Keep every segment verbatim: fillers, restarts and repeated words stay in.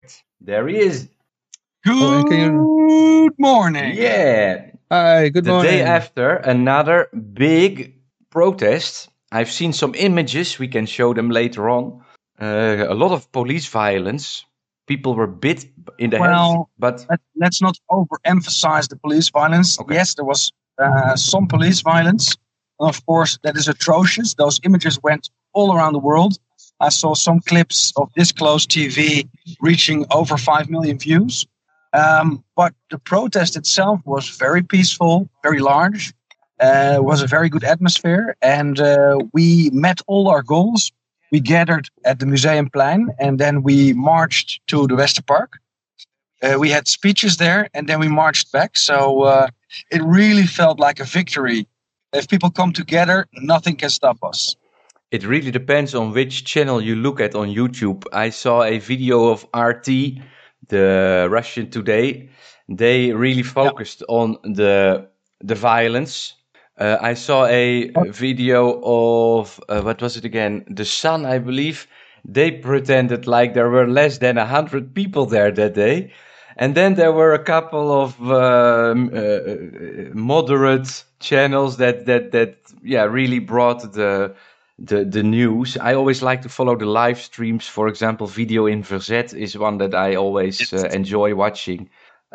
There he is. Good Oh, and can you... morning. Yeah. Hi, good the morning. day after another big protest. I've seen some images. We can show them later on. Uh, a lot of police violence. People were bit in the head. Well, But let, let's not overemphasize the police violence. Okay. Yes, there was uh, some police violence. And of course, that is atrocious. Those images went all around the world. I saw some clips of Disclose T V reaching over five million views. Um, but the protest itself was very peaceful, very large. Uh, was a very good atmosphere. And uh, we met all our goals. We gathered at the Museumplein and then we marched to the Westerpark. Uh, we had speeches there and then we marched back. So uh, it really felt like a victory. If people come together, nothing can stop us. it really depends on which channel you look at on YouTube. I saw a video of R T, the Russian Today. They really focused on the the violence. Uh, I saw a video of, uh, what was it again? The Sun, I believe. They pretended like there were less than one hundred people there that day. And then there were a couple of um, uh, moderate channels that, that, that yeah, really brought the, the, the news. I always like to follow the live streams. For example, Video in Verzet is one that I always uh, enjoy watching.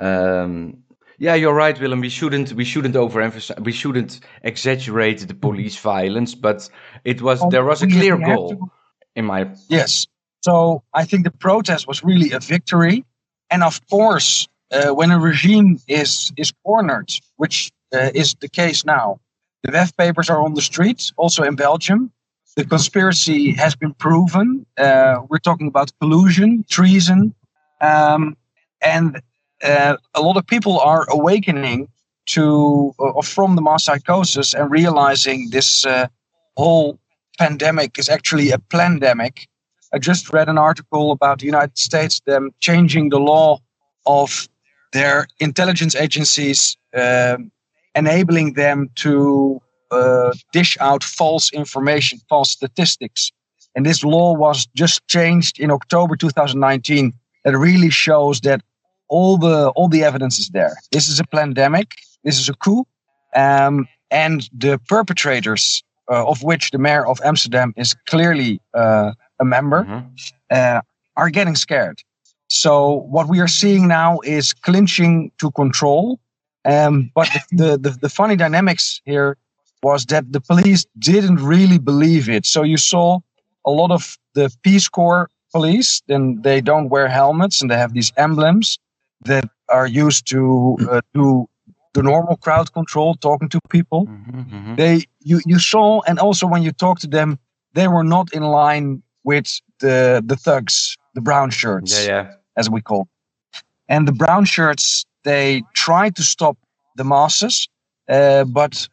Um, Yeah, you're right, Willem. We shouldn't we shouldn't overemphasize. We shouldn't exaggerate the police violence, but it was Um, there was a we- clear we have goal, to- in my. Yes. So I think the protest was really a victory. And of course, uh, when a regime is, is cornered, which uh, is the case now, the W E F papers are on the streets, also in Belgium. The conspiracy has been proven. Uh, we're talking about collusion, treason. Um, and uh, a lot of people are awakening to uh, from the mass psychosis and realizing this uh, whole pandemic is actually a plandemic. I just read an article about the United States, them changing the law of their intelligence agencies, um, enabling them to uh, dish out false information, false statistics. And this law was just changed in October two thousand nineteen. That really shows that all the all the evidence is there. This is a pandemic. This is a coup. Um, and the perpetrators, uh, of which the mayor of Amsterdam is clearly uh, a member, Mhm. uh, are getting scared. So what we are seeing now is clinching to control. Um, but the, the, the, the funny dynamics here was that the police didn't really believe it. So you saw a lot of the Peace Corps police, then they don't wear helmets and they have these emblems that are used to uh, do the normal crowd control, talking to people. Mhm, mhm. They you, you saw, and also when you talk to them, they were not in line with the the thugs, the brown shirts, Yeah, yeah. as we call. And the brown shirts, they tried to stop the masses, uh, but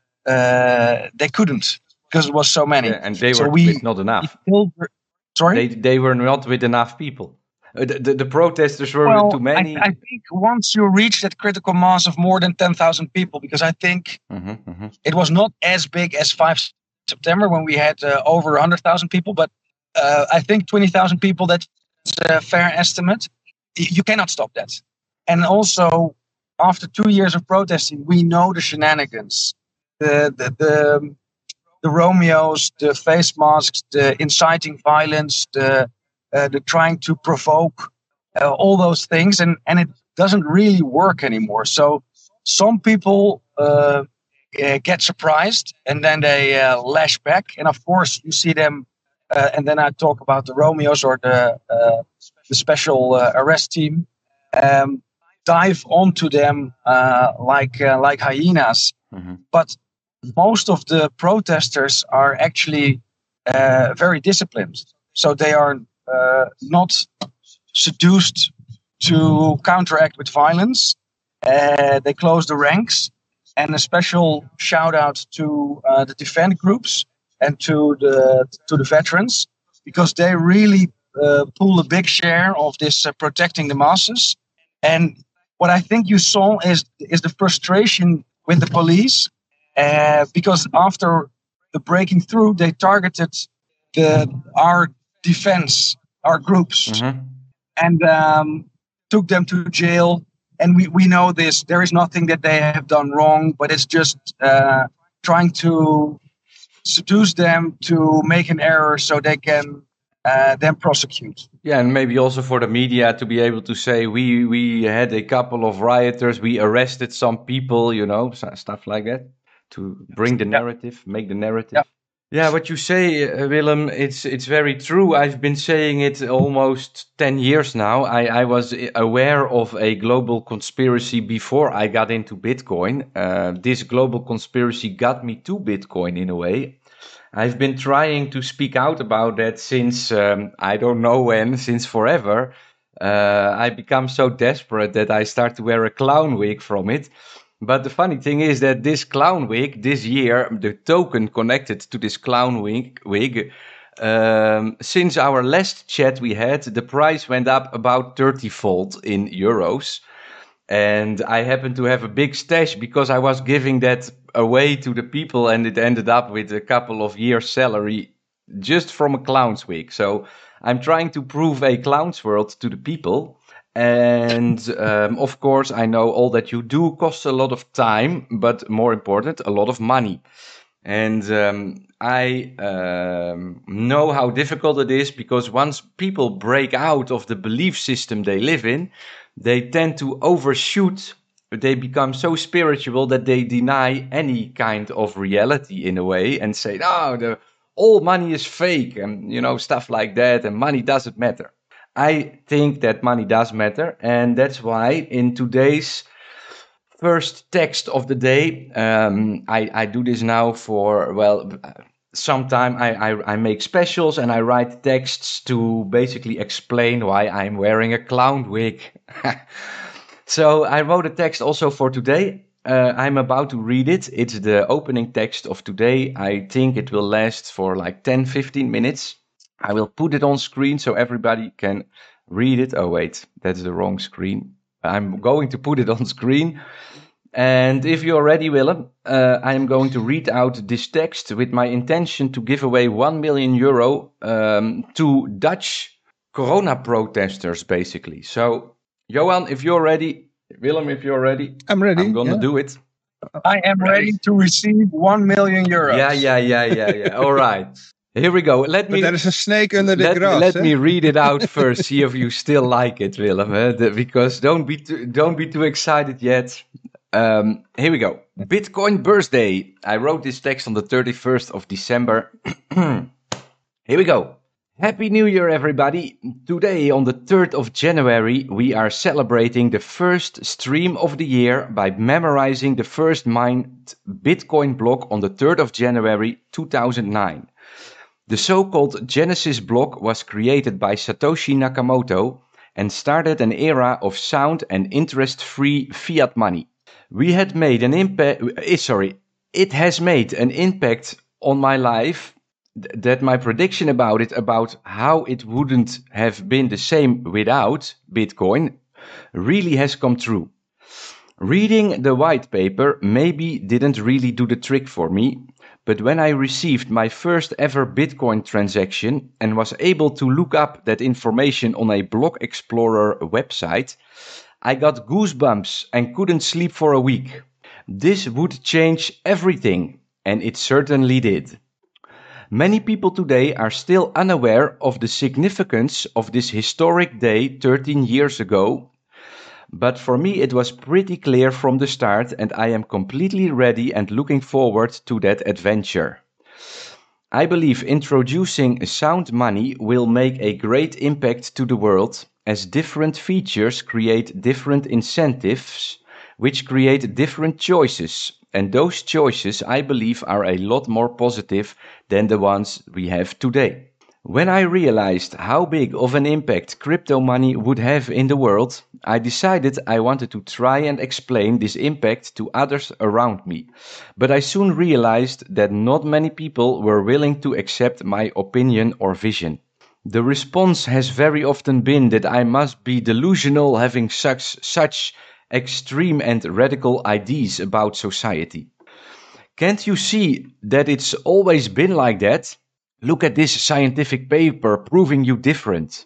uh, they couldn't because it was so many. Yeah, and they So were we- with not enough. Still, sorry. They they were not with enough people. Uh, the, the the protesters were Well, with too many. I, I think once you reach that critical mass of more than ten thousand people, because I think Mhm, mhm. it was not as big as five September when we had uh, over one hundred thousand people, but uh, I think twenty thousand people, that's a fair estimate. Y- You cannot stop that. And also, after two years of protesting, we know the shenanigans, the, the, the, the Romeos, the face masks, the inciting violence, the, uh, the trying to provoke, uh, all those things, and, and it doesn't really work anymore. So some people uh, uh, get surprised and then they uh, lash back. And of course, you see them, uh, and then I talk about the Romeos or the, uh, the special uh, arrest team, um, dive onto them uh, like, uh, like hyenas. Mhm. But most of the protesters are actually uh, very disciplined. So they are uh, not seduced to counteract with violence. Uh, they close the ranks. And a special shout out to uh, the defend groups and to the to the veterans, because they really uh, pull a big share of this uh, protecting the masses. And what I think you saw is is the frustration with the police, uh, because after the breaking through, they targeted the our defense, our groups. Mhm. and um, took them to jail. And we, we know this. There is nothing that they have done wrong, but it's just uh, trying to seduce them to make an error so they can uh, then prosecute. Yeah, and maybe also for the media to be able to say we we had a couple of rioters, we arrested some people, you know, stuff like that, to bring the narrative, yeah. make the narrative. Yeah. Yeah, what you say, uh, Willem, it's it's very true. I've been saying it almost ten years now. I, I was aware of a global conspiracy before I got into Bitcoin. Uh, this global conspiracy got me to Bitcoin in a way. I've been trying to speak out about that since, um, I don't know when, since forever. Uh, I become so desperate that I start to wear a clown wig from it. But the funny thing is that this clown wig, this year, the token connected to this clown wig, wig um, since our last chat we had, the price went up about thirty-fold in euros. And I happen to have a big stash because I was giving that away to the people, and it ended up with a couple of years' salary just from a clown's wig. So I'm trying to prove a clown's world to the people. And um, of course, I know all that you do costs a lot of time, but more important, a lot of money. And um, I um, know how difficult it is, because once people break out of the belief system they live in, they tend to overshoot. They become so spiritual that they deny any kind of reality in a way and say, no, the, all money is fake, and, you know, stuff like that, and money doesn't matter. I think that money does matter, and that's why in today's first text of the day, um, I, I do this now for, well, sometime I, I, I make specials and I write texts to basically explain why I'm wearing a clown wig. So I wrote a text also for today. Uh, I'm about to read it. It's the opening text of today. I think it will last for like ten, fifteen minutes. I will put it on screen so everybody can read it. Oh, wait, that's the wrong screen. I'm going to put it on screen. And if you're ready, Willem, uh, I am going to read out this text with my intention to give away one million euro um, to Dutch corona protesters, basically. So, Johan, if you're ready, Willem, if you're ready, I'm ready. I'm going to yeah. do it. I am ready to receive one million euros. Yeah, yeah, yeah, yeah, yeah. All right. Here we go. Let but me. There is a snake under the let, grass. Let eh? me read it out first. See if you still like it, Willem. Eh? The, because don't be too, don't be too excited yet. Um, here we go. Bitcoin birthday. I wrote this text on the thirty-first of December. Here we go. Happy New Year, everybody. Today, on the third of January, we are celebrating the first stream of the year by memorizing the first mined Bitcoin block on the third of January two thousand nine. The so-called Genesis block was created by Satoshi Nakamoto and started an era of sound and interest-free fiat money. We had made an impact, sorry, it has made an impact on my life th- that my prediction about it, about how it wouldn't have been the same without Bitcoin, really has come true. Reading the white paper maybe didn't really do the trick for me, but when I received my first ever Bitcoin transaction and was able to look up that information on a Block Explorer website, I got goosebumps and couldn't sleep for a week. This would change everything, and it certainly did. Many people today are still unaware of the significance of this historic day thirteen years ago, but for me it was pretty clear from the start, and I am completely ready and looking forward to that adventure. I believe introducing sound money will make a great impact to the world, as different features create different incentives, which create different choices, and those choices, I believe, are a lot more positive than the ones we have today. When I realized how big of an impact crypto money would have in the world, I decided I wanted to try and explain this impact to others around me. But I soon realized that not many people were willing to accept my opinion or vision. The response has very often been that I must be delusional, having such, such extreme and radical ideas about society. Can't you see that it's always been like that? Look at this scientific paper proving you different.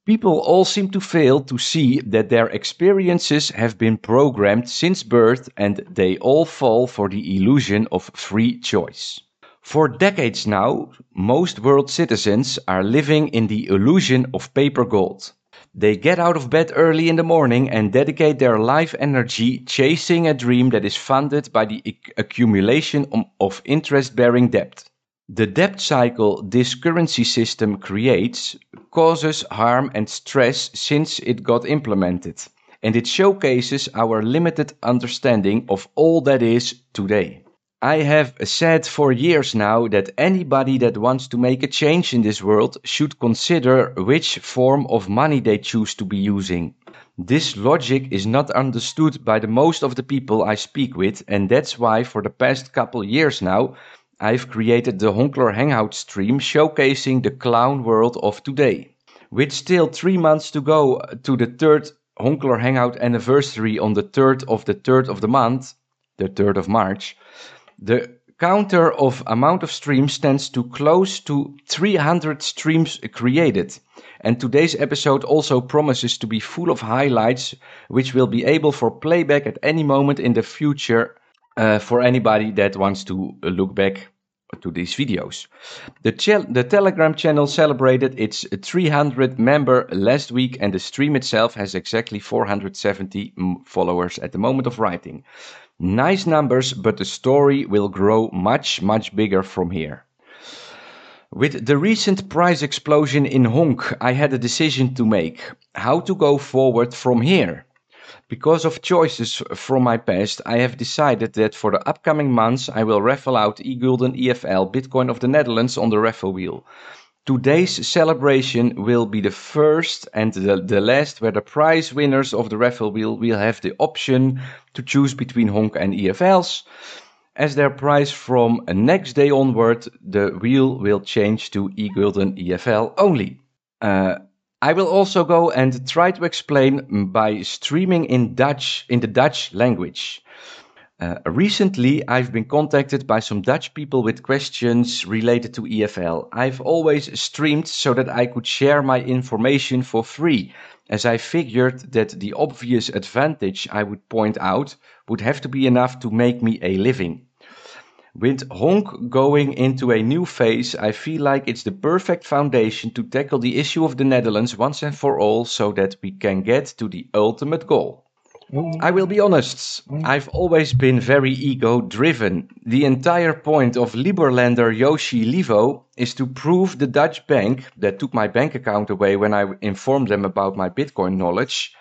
People all seem to fail to see that their experiences have been programmed since birth and they all fall for the illusion of free choice. For decades now, most world citizens are living in the illusion of paper gold. They get out of bed early in the morning and dedicate their life energy chasing a dream that is funded by the accumulation of interest-bearing debt. The debt cycle this currency system creates causes harm and stress since it got implemented, and it showcases our limited understanding of all that is today. I have said for years now that anybody that wants to make a change in this world should consider which form of money they choose to be using. This logic is not understood by the most of the people I speak with, and that's why for the past couple years now I've created the Honkler Hangout stream showcasing the clown world of today. With still three months to go to the third Honkler Hangout anniversary on the third of the third of the month, the third of March, the counter of amount of streams stands to close to three hundred streams created. And today's episode also promises to be full of highlights, which will be able for playback at any moment in the future uh, for anybody that wants to look back to these videos. The, ch- the Telegram channel celebrated its three hundred member last week, and the stream itself has exactly four hundred seventy followers at the moment of writing. Nice numbers, but the story will grow much, much bigger from here. With the recent price explosion in Honk, I had a decision to make. How to go forward from here? Because of choices from my past, I have decided that for the upcoming months I will raffle out eGulden E F L Bitcoin of the Netherlands on the raffle wheel. Today's celebration will be the first and the, the last where the prize winners of the raffle wheel will have the option to choose between Honk and E F Ls. As their prize from next day onward, the wheel will change to eGulden E F L only. Uh, I will also go and try to explain by streaming in Dutch, in the Dutch language. Uh, recently, I've been contacted by some Dutch people with questions related to E F L. I've always streamed so that I could share my information for free, as I figured that the obvious advantage I would point out would have to be enough to make me a living. With Honk going into a new phase, I feel like it's the perfect foundation to tackle the issue of the Netherlands once and for all so that we can get to the ultimate goal. I will be honest, I've always been very ego-driven. The entire point of Liberlander Yoshi Livo is to prove the Dutch bank that took my bank account away when I informed them about my Bitcoin knowledge,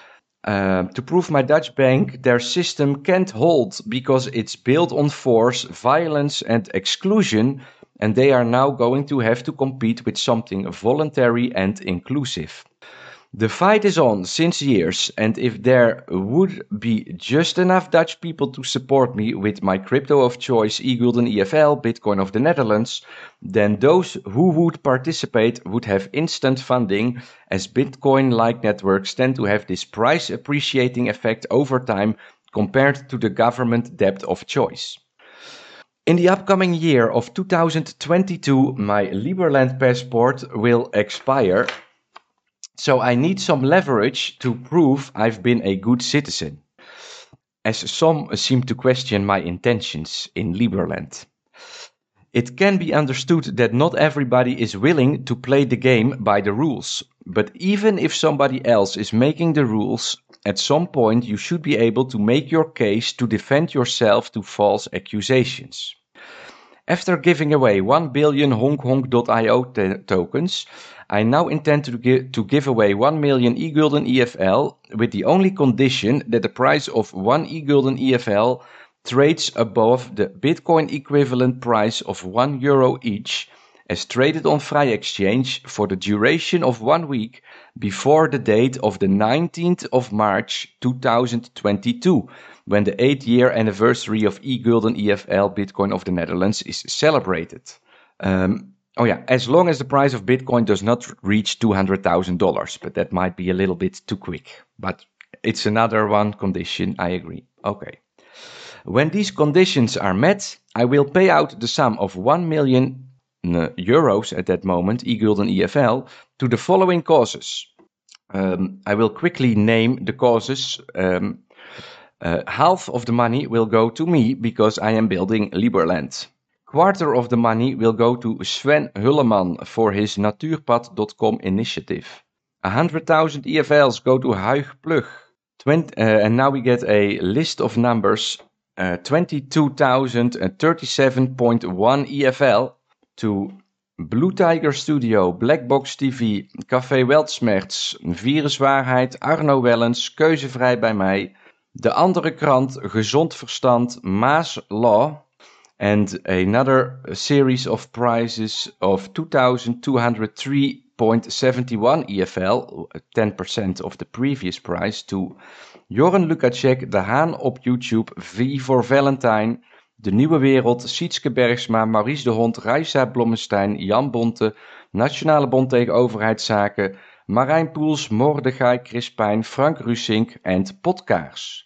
uh, to prove my Dutch bank their system can't hold because it's built on force, violence and exclusion, and they are now going to have to compete with something voluntary and inclusive. The fight is on since years, and if there would be just enough Dutch people to support me with my crypto of choice, eGulden E F L, Bitcoin of the Netherlands, then those who would participate would have instant funding, as Bitcoin-like networks tend to have this price appreciating effect over time compared to the government debt of choice. In the upcoming year of two thousand twenty-two, my Liberland passport will expire. So I need some leverage to prove I've been a good citizen, as some seem to question my intentions in Liberland. It can be understood that not everybody is willing to play the game by the rules, but even if somebody else is making the rules, at some point you should be able to make your case to defend yourself to false accusations. After giving away one billion honk honk dot i o t- tokens, I now intend to give, to give away one million eGulden E F L with the only condition that the price of one eGulden E F L trades above the Bitcoin equivalent price of one euro each, as traded on Vrij Exchange for the duration of one week before the date of the nineteenth of March two thousand twenty-two, when the eight-year anniversary of eGulden E F L Bitcoin of the Netherlands is celebrated. Um, oh yeah, as long as the price of Bitcoin does not reach two hundred thousand dollars, but that might be a little bit too quick. But it's another one condition, I agree. Okay. When these conditions are met, I will pay out the sum of one million euros at that moment, eGulden E F L, to the following causes. Um, I will quickly name the causes. Um, uh, half of the money will go to me because I am building Liberland. Quarter of the money will go to Sven Hulleman for his natuurpad dot com initiative. one hundred thousand E F Ls go to Huig Plug. twenty, uh, and now we get a list of numbers. Uh, twenty-two thousand thirty-seven point one E F L to Blue Tiger Studio, Blackbox T V, Café Weltsmerts, Viruswaarheid, Arno Wellens, Keuzevrij bij mij, De Andere Krant, Gezond Verstand, Maas Law, and another series of prizes of two thousand two hundred three point seven one E F L, ten percent of the previous prize, to Joren Lukacek, De Haan op YouTube, V voor Valentine, De Nieuwe Wereld, Sietske Bergsma, Maurice de Hond, Raisa Blommestein, Jan Bonte, Nationale Bond tegen Overheidszaken, Marijn Poels, Mordechai Crispijn, Frank Rusink and Potkaars.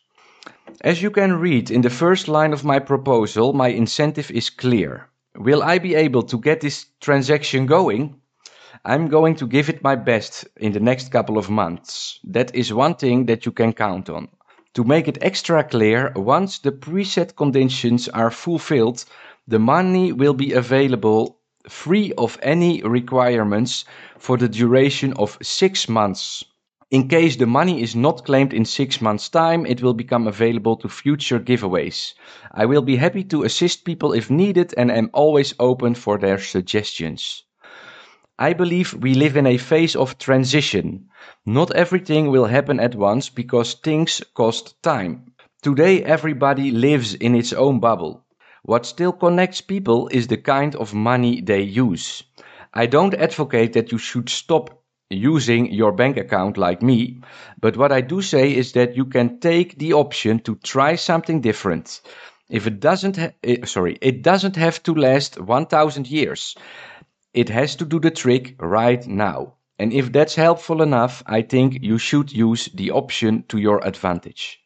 As you can read in the first line of my proposal, my incentive is clear. Will I be able to get this transaction going? I'm going to give it my best in the next couple of months. That is one thing that you can count on. To make it extra clear, once the preset conditions are fulfilled, the money will be available free of any requirements for the duration of six months. In case the money is not claimed in six months' time, it will become available to future giveaways. I will be happy to assist people if needed and am always open for their suggestions. I believe we live in a phase of transition. Not everything will happen at once because things cost time. Today everybody lives in its own bubble. What still connects people is the kind of money they use. I don't advocate that you should stop using your bank account like me, but what I do say is that you can take the option to try something different. If it doesn't ha- eh, sorry, it doesn't have to last one thousand years. It has to do the trick right now. And if that's helpful enough, I think you should use the option to your advantage.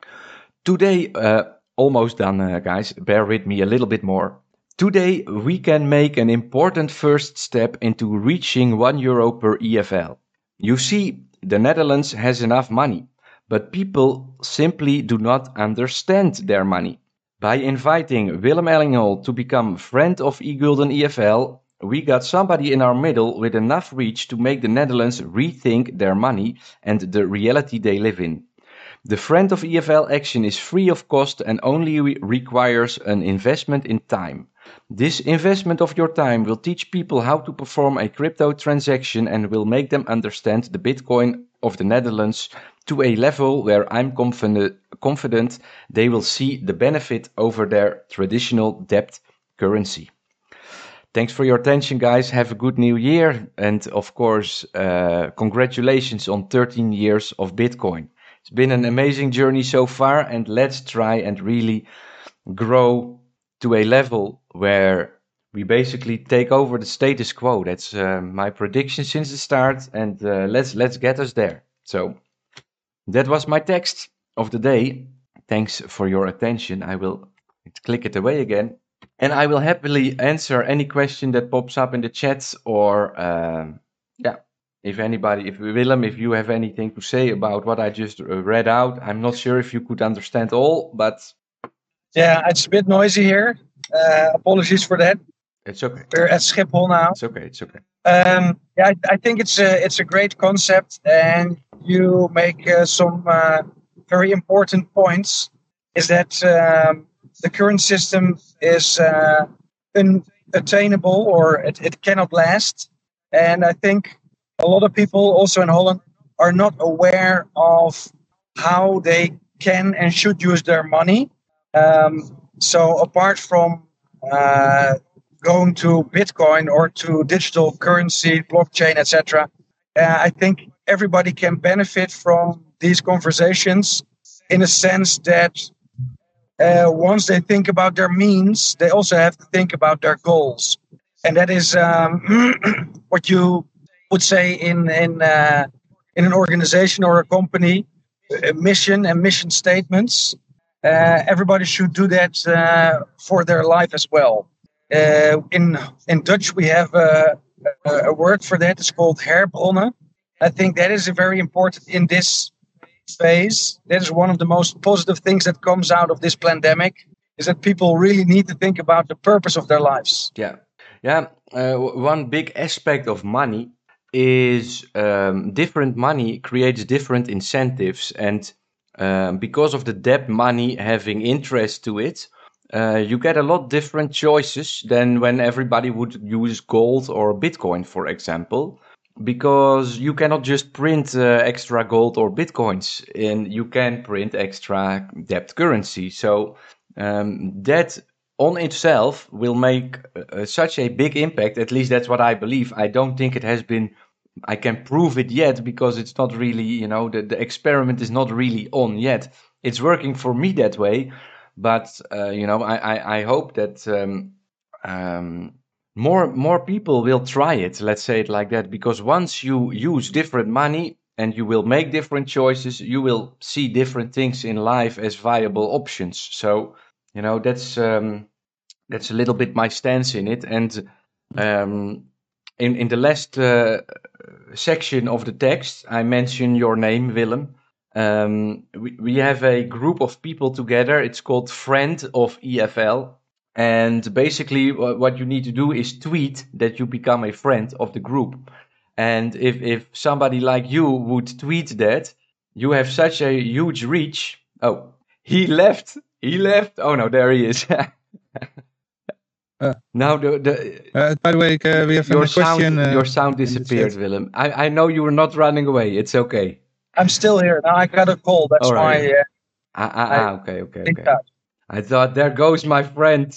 Today, uh, almost done, uh, guys. Bear with me a little bit more. Today, we can make an important first step into reaching one euro per E F L. You see, the Netherlands has enough money, but people simply do not understand their money. By inviting Willem Ellingholt to become friend of eGulden E F L, we got somebody in our middle with enough reach to make the Netherlands rethink their money and the reality they live in. The Friend of E F L action is free of cost and only re- requires an investment in time. This investment of your time will teach people how to perform a crypto transaction and will make them understand the Bitcoin of the Netherlands to a level where I'm confident, confident they will see the benefit over their traditional debt currency. Thanks for your attention, guys. Have a good new year. And of course, uh, congratulations on thirteen years of Bitcoin. It's been an amazing journey so far, and let's try and really grow to a level where we basically take over the status quo. That's uh, my prediction since the start, and uh, let's let's get us there. So that was my text of the day. Thanks for your attention. I will click it away again. And I will happily answer any question that pops up in the chat, or um, yeah, if anybody, if Willem, if you have anything to say about what I just uh, read out. I'm not sure if you could understand all, but yeah, it's a bit noisy here. Uh, apologies for that. It's okay. We're at Schiphol now. It's okay. It's okay. Um, yeah, I, I think it's a it's a great concept, and you make uh, some uh, very important points. Is that um, the current system is uh, unattainable, or it, it cannot last. And I think a lot of people also in Holland are not aware of how they can and should use their money. Um, so apart from uh, going to Bitcoin or to digital currency, blockchain, et cetera, uh, I think everybody can benefit from these conversations in a sense that Uh, once they think about their means, they also have to think about their goals, and that is um, what you would say in in uh, in an organization or a company, uh, mission and mission statements. Uh, everybody should do that uh, for their life as well. Uh, in in Dutch, we have a, a, a word for that. It's called herbronnen. I think that is a very important in this phase. That is one of the most positive things that comes out of this pandemic, is that people really need to think about the purpose of their lives. Yeah, yeah. Uh, one big aspect of money is um, different money creates different incentives, and um, because of the debt money having interest to it, uh, you get a lot different choices than when everybody would use gold or Bitcoin, for example, because you cannot just print uh, extra gold or Bitcoins, and you can print extra debt currency. So um, that on itself will make uh, such a big impact. At least that's what I believe. I don't think it has been, I can prove it yet, because it's not really, you know, the, the experiment is not really on yet. It's working for me that way. But, uh, you know, I, I, I hope that um, um, more more people will try it, let's say it like that. Because once you use different money and you will make different choices, you will see different things in life as viable options. So, you know, that's um, that's a little bit my stance in it. And um, in in the last uh, section of the text, I mention your name, Willem. Um, we we have a group of people together. It's called Friend of E F L, and basically wha- what you need to do is tweet that you become a friend of the group. And if if somebody like you would tweet that, you have such a huge reach. Oh, he left. He left. Oh no, there he is. Uh, Now the the uh, by the way, uh, we have your a question. sound Uh, your sound in the disappeared, chat. Willem. I I know you were not running away. It's okay. I'm still here. Now I got a call. That's All right. why uh, Ah ah I ah. Okay okay think okay. that. I thought there goes my friend.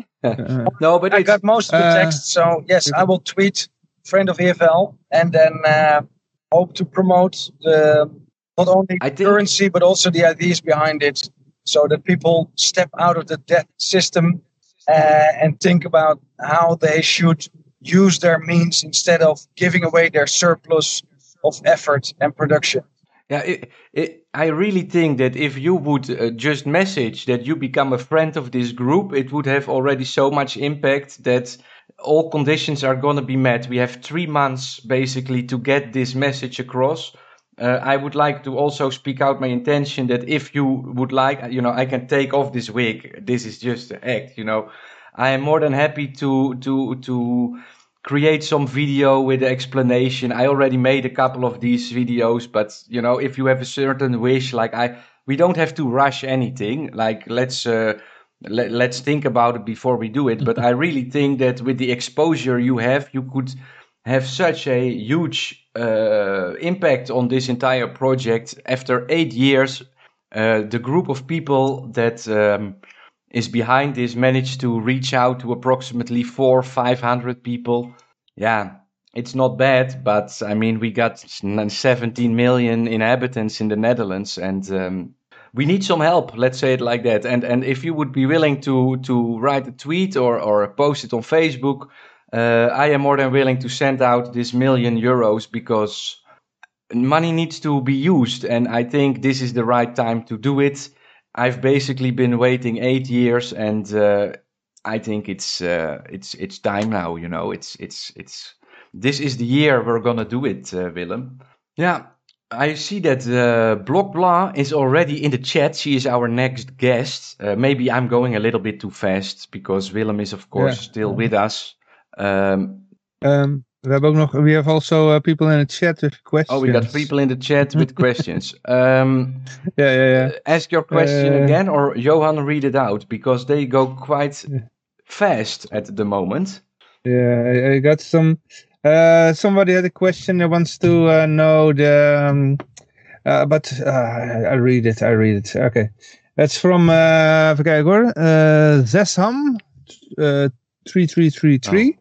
Uh, No, but I it's got most of the Uh, text. So yes, I will tweet friend of E F L and then uh, hope to promote the not only I think currency but also the ideas behind it, so that people step out of the debt system uh, and think about how they should use their means instead of giving away their surplus of effort and production. yeah, it, it, I really think that if you would uh, just message that you become a friend of this group, it would have already so much impact that all conditions are going to be met. We have three months basically to get this message across. Uh, I would like to also speak out my intention that if you would like, you know, I can take off this wig. This is just an act, you know. I am more than happy to to to create some video with the explanation. I already made a couple of these videos, but you know, if you have a certain wish, like I, we don't have to rush anything. Like let's uh, let, let's think about it before we do it. But I really think that with the exposure you have, you could have such a huge uh, impact on this entire project. After eight years, uh, the group of people that um, is behind this managed to reach out to approximately four, five hundred people. Yeah, it's not bad, but I mean, we got seventeen million inhabitants in the Netherlands, and um, we need some help. Let's say it like that. And and if you would be willing to to write a tweet or or post it on Facebook, uh, I am more than willing to send out this million euros, because money needs to be used, and I think this is the right time to do it. I've basically been waiting eight years, and uh, I think it's uh, it's it's time now. You know, it's it's it's this is the year we're gonna do it, uh, Willem. Yeah, I see that uh, Block Blah is already in the chat. She is our next guest. Uh, maybe I'm going a little bit too fast because Willem is, of course, yeah. still with us. Um, Um, we have ook nog. We have also uh, people in the chat with questions. oh, we got people in the chat with questions. Um, Yeah, yeah, yeah. uh, ask your question Uh, again, or Johan read it out, because they go quite Yeah. fast at the moment. Yeah, I, I got some. Uh, somebody had a question that wants to uh, know the. Um, uh, but uh, I read it. I read it. Okay, that's from. Uh, even kijken hoor. Uh, Zesham, uh, three three three three.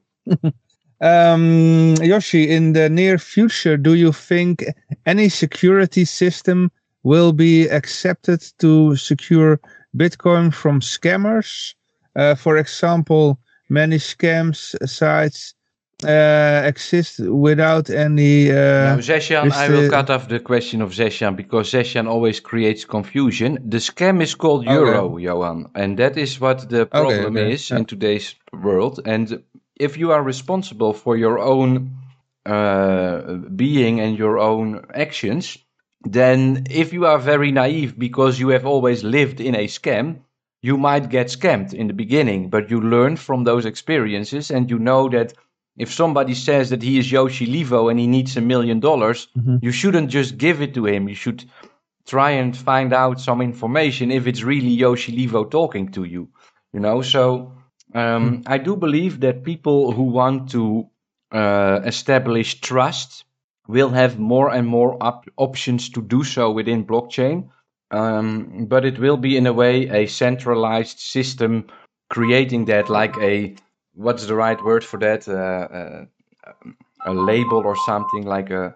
Um, Yoshi, in the near future, do you think any security system will be accepted to secure Bitcoin from scammers? Uh, for example, many scams sites uh, exist without any. Uh, Now, Zeshan, with I will the- cut off the question of Zeshan, because Zeshan always creates confusion. The scam is called Okay. euro, Johan, and that is what the problem okay, is yeah. in today's world. And if you are responsible for your own uh, being and your own actions, then if you are very naive because you have always lived in a scam, you might get scammed in the beginning, but you learn from those experiences, and you know that if somebody says that he is Yoshi Levo and he needs a million dollars, you shouldn't just give it to him. You should try and find out some information if it's really Yoshi Levo talking to you, you know. So um, I do believe that people who want to uh, establish trust will have more and more op- options to do so within blockchain. Um, but it will be in a way a centralized system creating that, like a, what's the right word for that? Uh, uh, a label or something, like a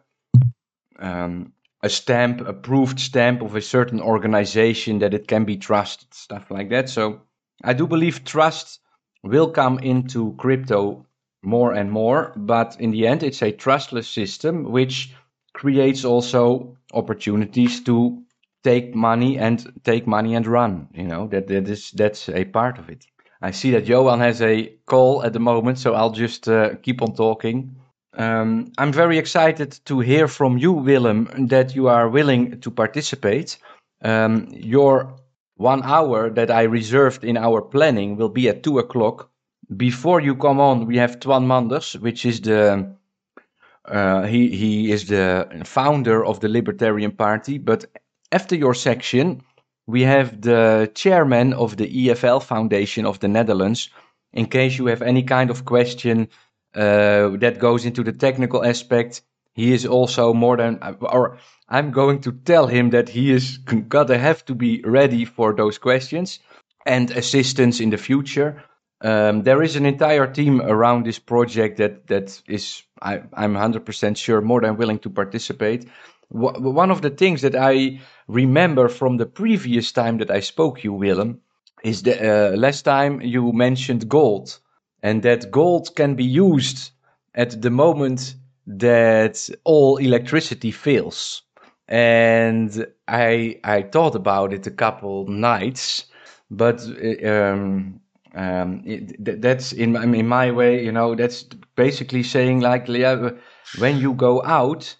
um, a stamp, approved stamp of a certain organization that it can be trusted, stuff like that. So I do believe trust will come into crypto more and more, but in the end, it's a trustless system which creates also opportunities to take money and take money and run. You know, that that is that's a part of it. I see that Johan has a call at the moment, so I'll just uh, keep on talking. Um, I'm very excited to hear from you, Willem, that you are willing to participate. Um, your one hour that I reserved in our planning will be at two o'clock. Before you come on, we have Twan Manders, which is the uh, he he is the founder of the Libertarian Party. But after your section, we have the chairman of the E F L Foundation of the Netherlands. In case you have any kind of question uh, that goes into the technical aspect, he is also more than, or I'm going to tell him that he is gonna have to be ready for those questions and assistance in the future. Um, there is an entire team around this project that that is, I, I'm one hundred percent sure, more than willing to participate. W- one of the things that I remember from the previous time that I spoke you, Willem, is the uh, last time you mentioned gold, and that gold can be used at the moment that all electricity fails. And I I thought about it a couple nights, but um, um, it, that's in in my way, you know, that's basically saying like, yeah, when you go out,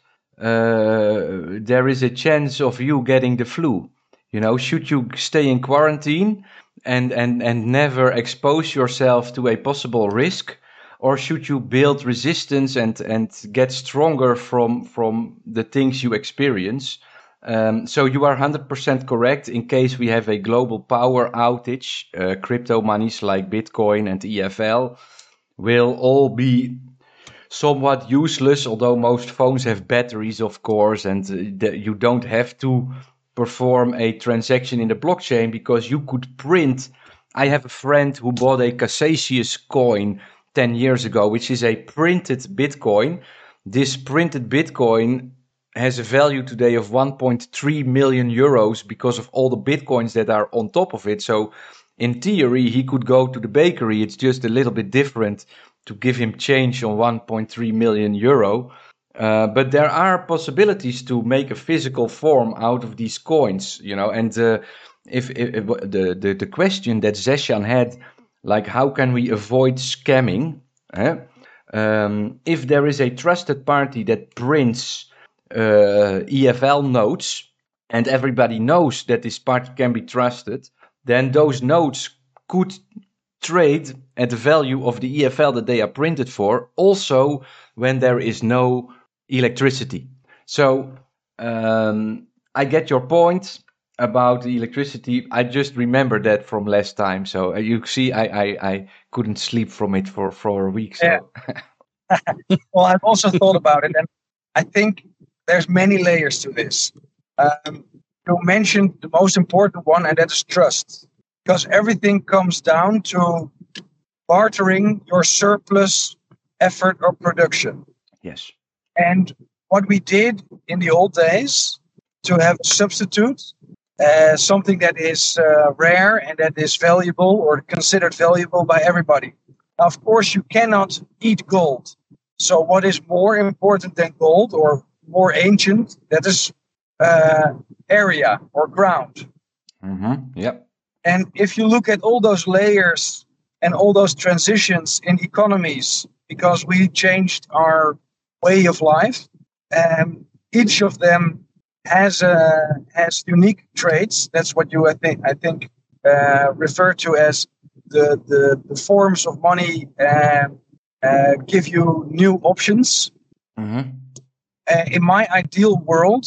uh, there is a chance of you getting the flu. You know, should you stay in quarantine and and and never expose yourself to a possible risk, or should you build resistance and and get stronger from from the things you experience? Um, so you are one hundred percent correct. In case we have a global power outage, uh, crypto monies like Bitcoin and E F L will all be somewhat useless, although most phones have batteries, of course, and uh, the, you don't have to perform a transaction in the blockchain because you could print. I have a friend who bought a Cassius coin ten years ago, which is a printed Bitcoin. This printed Bitcoin has a value today of one point three million euros because of all the Bitcoins that are on top of it. So in theory, he could go to the bakery. It's just a little bit different to give him change on one point three million euro. Uh, but there are possibilities to make a physical form out of these coins, you know. And uh, if, if, if the, the the question that Zeshan had, like how can we avoid scamming? Eh? Um, if there is a trusted party that prints uh, E F L notes, and everybody knows that this party can be trusted, then those notes could trade at the value of the E F L that they are printed for, also when there is no electricity. So um, I get your point about the electricity. I just remember that from last time. So uh, you see, I, I, I couldn't sleep from it for, for a week. So. Yeah. Well, I've also thought about it, and I think there's many layers to this. Um, you mentioned the most important one, and that is trust. Because everything comes down to bartering your surplus effort or production. Yes. And what we did in the old days to have a substitute, uh, something that is uh, rare and that is valuable or considered valuable by everybody. Now, of course, you cannot eat gold. So what is more important than gold or more ancient? That is uh, area or ground. Mm-hmm. Yep. And if you look at all those layers and all those transitions in economies, because we changed our way of life. Um, each of them has uh, has unique traits. That's what you I think I think uh, refer to as the the, the forms of money uh, uh, give you new options. Mm-hmm. Uh, in my ideal world,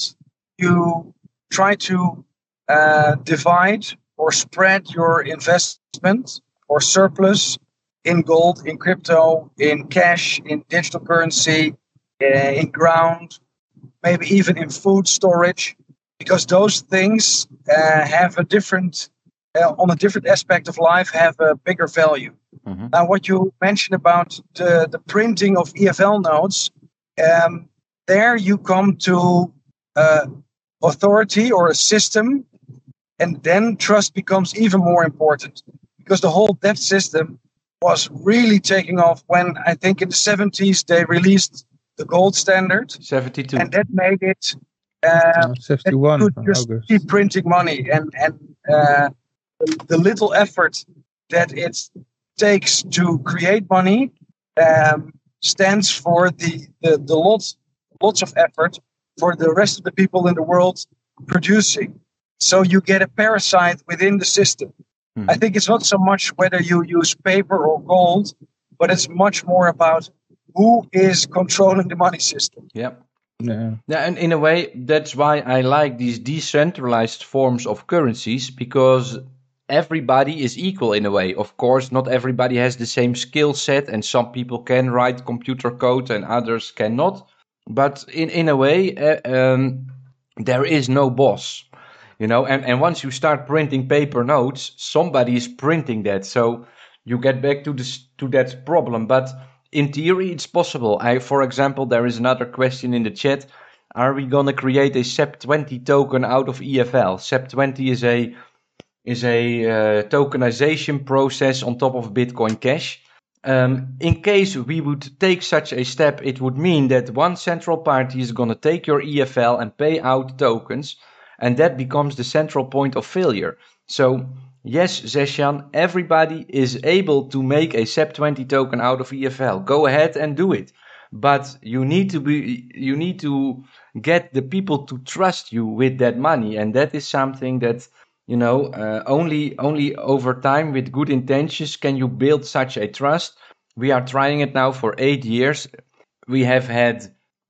you try to uh, divide or spread your investment or surplus in gold, in crypto, in cash, in digital currency, uh, in ground, maybe even in food storage, because those things uh, have a different, uh, on a different aspect of life, have a bigger value. Mm-hmm. Now, what you mentioned about the, the printing of E F L notes, um, there you come to uh, authority or a system, and then trust becomes even more important, because the whole debt system was really taking off when I think in the seventies they released the gold standard, seventy-two. and that made it uh, Uh, seventy-one, that you could just August. keep printing money, and and uh, the, the little effort that it takes to create money um, stands for the the, the lots lots of effort for the rest of the people in the world producing. So you get a parasite within the system. Mm-hmm. I think it's not so much whether you use paper or gold, but it's much more about who is controlling the money system. Yeah. Yeah. Yeah, and in a way, that's why I like these decentralized forms of currencies, because everybody is equal in a way. Of course, not everybody has the same skill set, and some people can write computer code and others cannot. But in, in a way, uh, um, there is no boss, you know. And, and once you start printing paper notes, somebody is printing that. So you get back to this to that problem. But in theory, it's possible. I, for example, there is another question in the chat. Are we gonna create a S E P twenty token out of E F L? S E P twenty is a is a uh, tokenization process on top of Bitcoin Cash. Um, in case we would take such a step, it would mean that one central party is going to take your E F L and pay out tokens, and that becomes the central point of failure. So, yes, Zeshan, everybody is able to make a S E P twenty token out of E F L. Go ahead and do it. But you need to be, you need to get the people to trust you with that money, and that is something that, you know, uh, only only over time with good intentions can you build such a trust. We are trying it now for eight years. We have had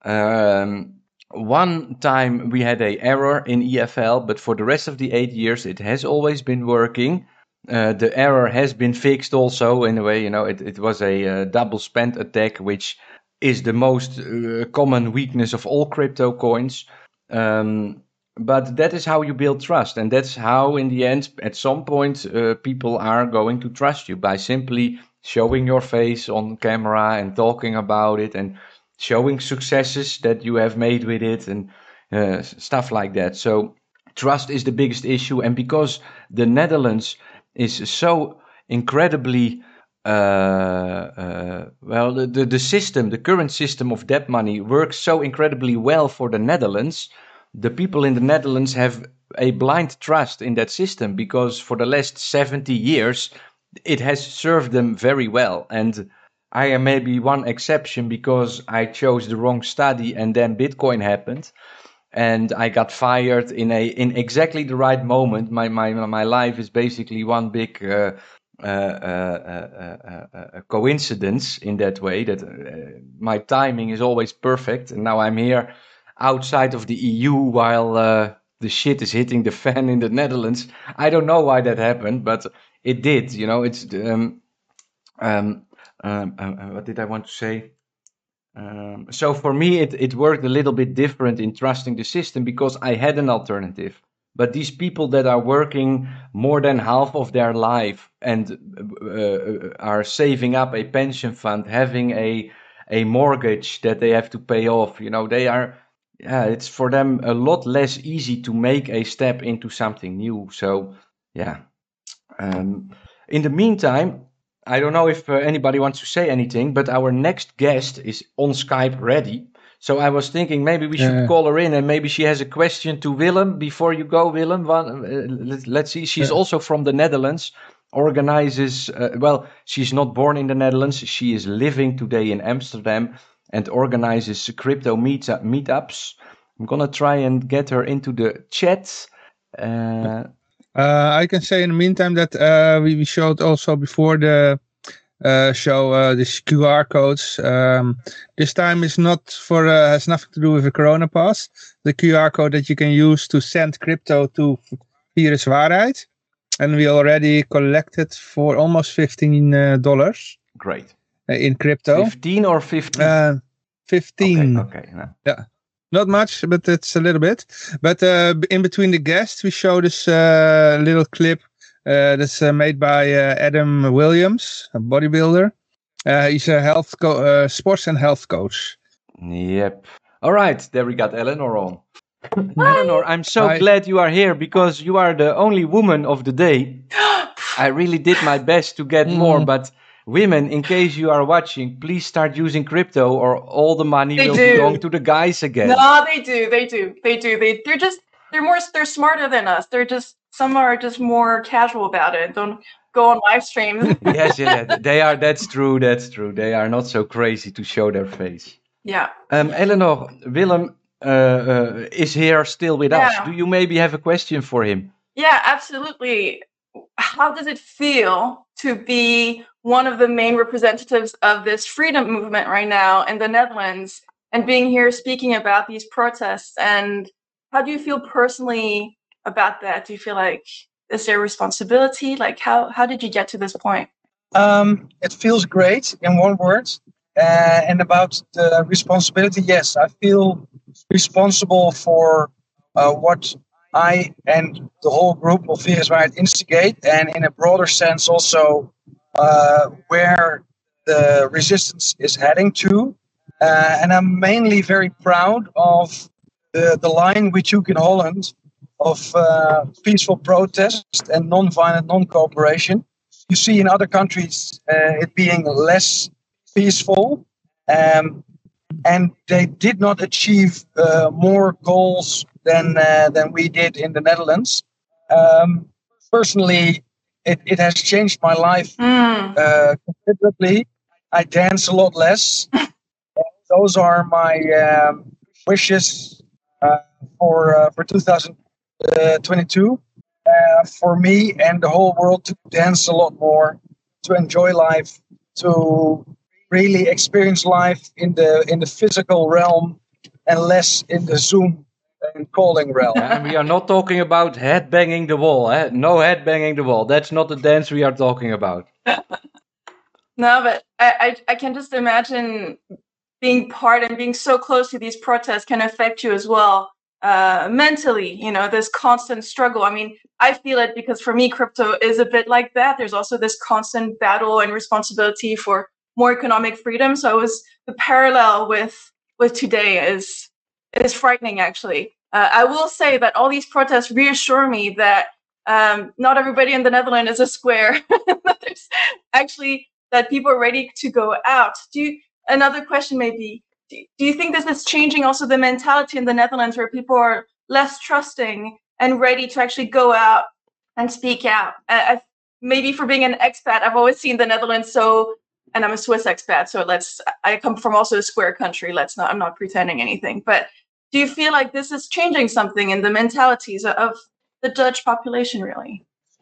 um, one time we had a error in E F L, but for the rest of the eight years it has always been working. Uh, the error has been fixed also in a way. You know, it, it was a uh, double spend attack, which is the most uh, common weakness of all crypto coins. Um, But that is how you build trust, and that's how, in the end, at some point, uh, people are going to trust you by simply showing your face on camera and talking about it and showing successes that you have made with it and uh, stuff like that. So trust is the biggest issue, and because the Netherlands is so incredibly uh, uh, well, the, the the system, the current system of debt money works so incredibly well for the Netherlands. The people in the Netherlands have a blind trust in that system because for the last seventy years, it has served them very well. And I am maybe one exception because I chose the wrong study and then Bitcoin happened. And I got fired in a in exactly the right moment. My my my life is basically one big uh, uh, uh, uh, uh, uh, coincidence in that way. That uh, my timing is always perfect, and now I'm here outside of the E U while uh, the shit is hitting the fan in the Netherlands. I don't know why that happened, but it did. You know, it's um, um, um, uh, what did I want to say? Um, so for me, it, it worked a little bit different in trusting the system because I had an alternative. But these people that are working more than half of their life and uh, are saving up a pension fund, having a a mortgage that they have to pay off, you know, they are, yeah, it's for them a lot less easy to make a step into something new. So, yeah. Um, in the meantime, I don't know if uh, anybody wants to say anything, but our next guest is on Skype ready. So I was thinking maybe we should Yeah. call her in and maybe she has a question to Willem before you go, Willem. One, uh, let, let's see. She's Yeah. also from the Netherlands, organizes, uh, well, she's not born in the Netherlands. She is living today in Amsterdam, and organizes crypto meet meetups. I'm gonna try and get her into the chat. Uh, Uh, I can say in the meantime that uh, we, we showed also before the uh, show uh, these Q R codes. Um, this time is not for uh, has nothing to do with the Corona Pass. The Q R code that you can use to send crypto to Virus Waarheid, and we already collected for almost fifteen uh, dollars. Great. Uh, in crypto. Fifteen or fifteen? Uh, fifteen. Okay. okay no. Yeah. Not much, but it's a little bit. But uh, in between the guests, we show this uh, little clip uh, that's uh, made by uh, Adam Williams, a bodybuilder. Uh, he's a health co- uh, sports and health coach. Yep. All right, there we got Eleanor on. Eleanor, I'm so Hi. glad you are here because you are the only woman of the day. I really did my best to get Mm. more, but women, in case you are watching, please start using crypto or all the money They will do. belong to the guys again. No, they do. They do. They do. They they're just they're more they're smarter than us. They're just some are just more casual about it. Don't go on live streams. Yes, yeah, they are. That's true. That's true. They are not so crazy to show their face. Yeah. Um, Eleanor, Willem uh, uh, is here still with us. Yeah. Do you maybe have a question for him? Yeah, absolutely. How does it feel to be one of the main representatives of this freedom movement right now in the Netherlands and being here speaking about these protests? And how do you feel personally about that? Do you feel like is there responsibility? Like how, how did you get to this point? Um, it feels great in one word. Uh, and about the responsibility, yes, I feel responsible for uh, what I and the whole group of Virus Waarheid instigate, and in a broader sense also uh, where the resistance is heading to. Uh, and I'm mainly very proud of the, the line we took in Holland of uh, peaceful protest and non-violent non-cooperation. You see in other countries uh, it being less peaceful, um, and they did not achieve uh, more goals than uh, than we did in the Netherlands. Um, personally, it, it has changed my life Mm. uh, considerably. I dance a lot less. Those are my um, wishes uh, for uh, for two thousand twenty-two. Uh, for me and the whole world to dance a lot more, to enjoy life, to really experience life in the in the physical realm and less in the Zoom and calling realm. And we are not talking about head banging the wall. Eh? No head banging the wall. That's not the dance we are talking about. No, but I, I, I can just imagine being part and being so close to these protests can affect you as well uh, mentally, you know, this constant struggle. I mean, I feel it because for me, crypto is a bit like that. There's also this constant battle and responsibility for more economic freedom. So it was the parallel with with today is is frightening, actually. Uh, I will say that all these protests reassure me that um, not everybody in the Netherlands is a square. There's actually that people are ready to go out. Do you, another question maybe, do, do you think this is changing also the mentality in the Netherlands where people are less trusting and ready to actually go out and speak out? I, I, maybe for being an expat, I've always seen the Netherlands so, and I'm a Swiss expat, so let's, I come from also a square country. Let's not, I'm not pretending anything, but do you feel like this is changing something in the mentalities of the Dutch population, really?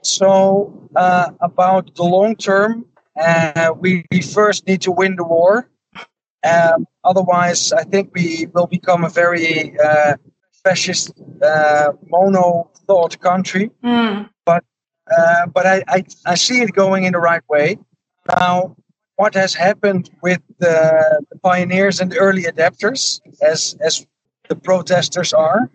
So uh, about the long term, uh, we, we first need to win the war. Um, otherwise, I think we will become a very uh, fascist, uh, mono-thought country. Mm. But uh, but I, I, I see it going in the right way. Now, what has happened with the, the pioneers and the early adapters, as as the protesters are,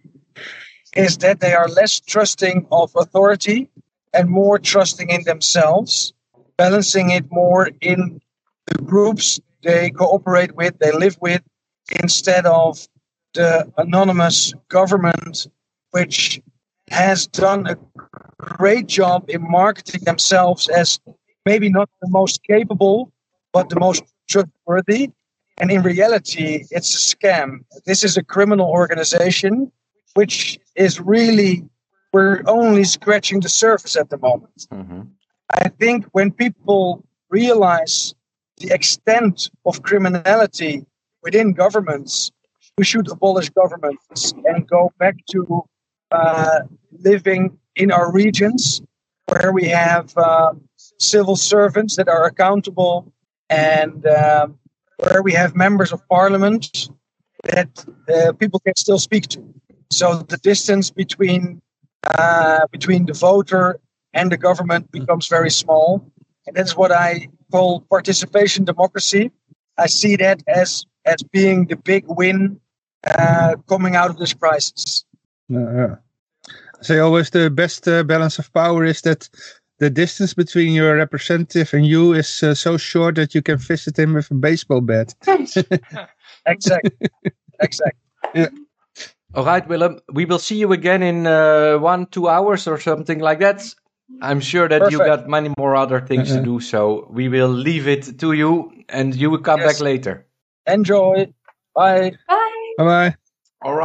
is that they are less trusting of authority and more trusting in themselves, balancing it more in the groups they cooperate with, they live with, instead of the anonymous government, which has done a great job in marketing themselves as maybe not the most capable, but the most trustworthy. And in reality, it's a scam. This is a criminal organization, which is really, we're only scratching the surface at the moment. Mm-hmm. I think when people realize the extent of criminality within governments, we should abolish governments and go back to uh, living in our regions where we have um, civil servants that are accountable and um, where we have members of parliament that uh, people can still speak to. So the distance between uh, between the voter and the government becomes very small. And that's what I call participation democracy. I see that as, as being the big win uh, coming out of this crisis. Uh, yeah. So always the best uh, balance of power is that the distance between your representative and you is uh, so short that you can visit him with a baseball bat. Exactly. Exactly. Yeah. All right, Willem. We will see you again in uh, one, two hours or something like that. I'm sure that Perfect. you got many more other things Uh-uh. to do, so we will leave it to you, and you will come Yes. back later. Enjoy. Bye. Bye. Bye bye.